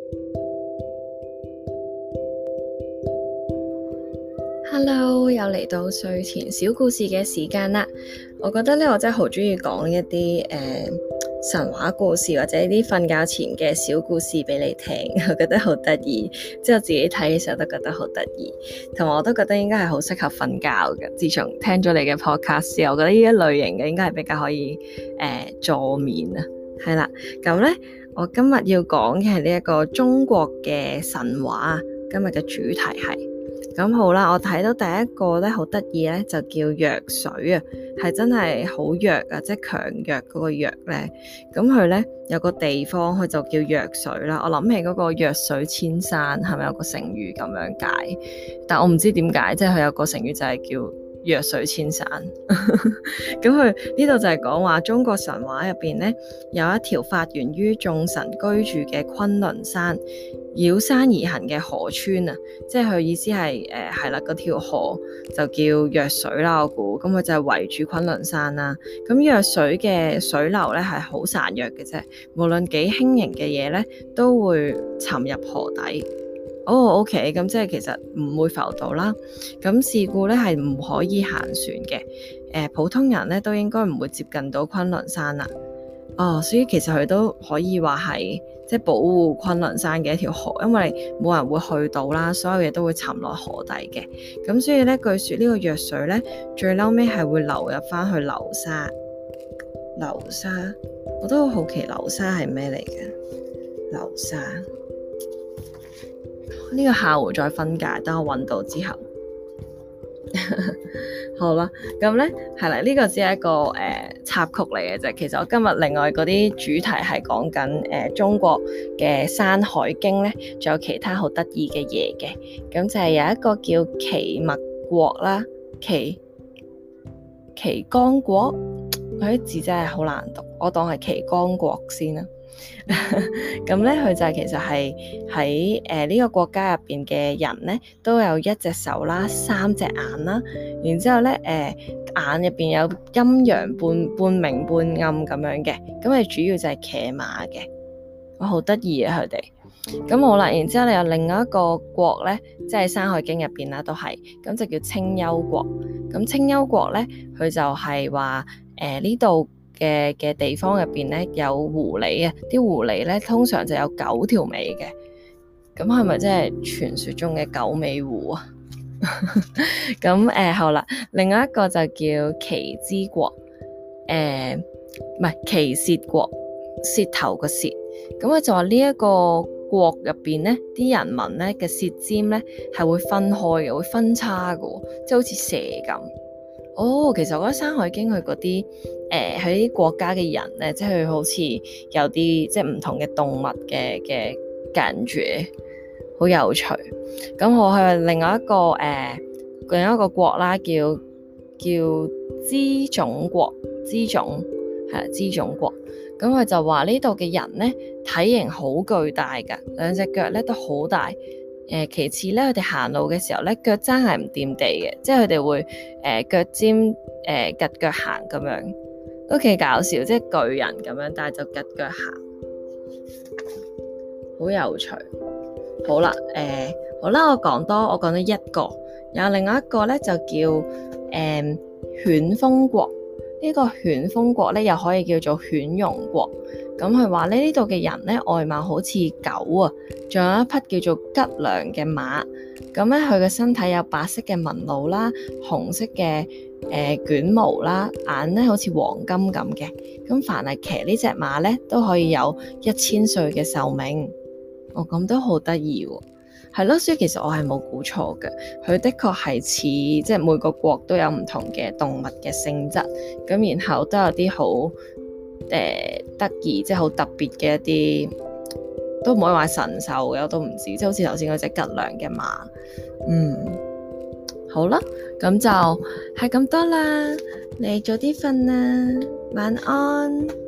Hello，又嚟到睡前小故事嘅時間啦。我覺得咧，我真係好中意講一啲神話故事或者啲瞓覺前嘅小故事俾你聽，我覺得好得意。即係我自己睇嘅時候都覺得好得意，同埋我都覺得應該係好適合瞓覺嘅。自從聽咗你嘅 podcast 之後，我覺得呢一類型嘅應該係比較可以助眠啊。係啦，咁咧我今日要講嘅係呢一個中國嘅神話。今日嘅主題係咁好啦，我睇到第一個咧好得意咧，就叫藥水啊，係真係好藥啊，即係強藥嗰個藥咧。咁佢咧有個地方，佢就叫藥水啦。我諗起嗰個藥水千山，係咪有個成語咁樣解？但我唔知點解，即係佢有個成語就係叫藥水千山。咁佢呢度就係講話中國神話入邊咧，有一條發源於眾神居住嘅崑崙山，繞山而行嘅河川啊，即係佢意思係係啦，嗰條河就叫藥水啦。我估咁佢就係圍住崑崙山啦。咁藥水嘅水流咧係好孱弱嘅啫，無論幾輕盈嘅嘢咧都會沉入河底。OK， 咁即係其實唔會浮到啦。咁事故咧係唔可以行船嘅。普通人咧都應該唔會接近到崑崙山啦。所以其實佢都可以話係即係保護崑崙山嘅一條河，因為冇人會去到啦，所有嘢都會沉落河底嘅。咁所以咧，據說呢個藥水咧，最嬲尾係會流入翻去流沙。流沙，我都好奇流沙係咩嚟嘅？流沙。呢個下回再分解，等我揾到之後。好啦，咁咧係啦，呢個只係一個插曲嚟嘅啫。其實我今日另外嗰啲主題係講緊中國嘅《山海經》咧，仲有其他好得意嘅嘢嘅。咁就係有一個叫岐麥國啦，岐江國，佢啲字真係好難讀，我當係岐江國先啦。咁咧，佢就其實係喺呢個國家入邊嘅人咧，都有一隻手啦，三隻眼啦，然之後咧眼入邊有陰陽半明半暗咁樣嘅，咁佢主要就係騎馬嘅，哇，好得意啊佢哋。咁好啦，然之後你有另外一個國咧，即係《山海經》入邊啦，都係咁就叫青丘國。咁青丘國咧，佢就係話呢度嘅地方入邊咧有狐狸啊，啲狐狸咧通常就有9條尾嘅，咁係咪即係傳說中嘅九尾狐啊？咁好啦，另外一個就叫岐之國，唔係岐舌國，舌頭個舌，咁佢就話呢一個國入邊咧，啲人民咧嘅舌尖咧係會分開嘅，會分叉嘅，即係好似蛇咁。其實我覺得《山海經》佢嗰啲佢啲國家嘅人咧，即係佢好似有啲即係唔同嘅動物嘅感覺，好有趣。咁我去另外一個國啦，叫支種國，支種國。咁佢就話呢度嘅人咧體型好巨大㗎，兩隻腳咧都好大。其次咧，佢哋行路嘅時候咧，腳踭係唔掂地嘅，即係佢哋會腳尖趷腳行咁樣，都幾搞笑，即係巨人咁樣，但係就趷腳行，好有趣。好啦，我講咗一個，有另外一個咧就叫犬風國。呢個犬風國咧又可以叫做犬戎國。咁佢話呢度嘅人咧外貌好似狗啊，仲有一匹叫做吉良嘅馬。咁咧佢嘅身體有白色嘅紋路啦，紅色嘅捲毛啦，眼咧好似黃金咁嘅。咁凡係騎呢隻馬咧都可以有1000歲嘅壽命。咁都好得意喎。係咯，所以其實我係冇估錯嘅，佢的確係似即係每個國都有唔同嘅動物嘅性質，咁然後都有啲好得意，即係好特別嘅一啲，都唔可以話神獸嘅，我都唔知，即係好似頭先嗰隻吉良嘅馬。好啦，咁就係咁多啦，你早啲瞓啦，晚安。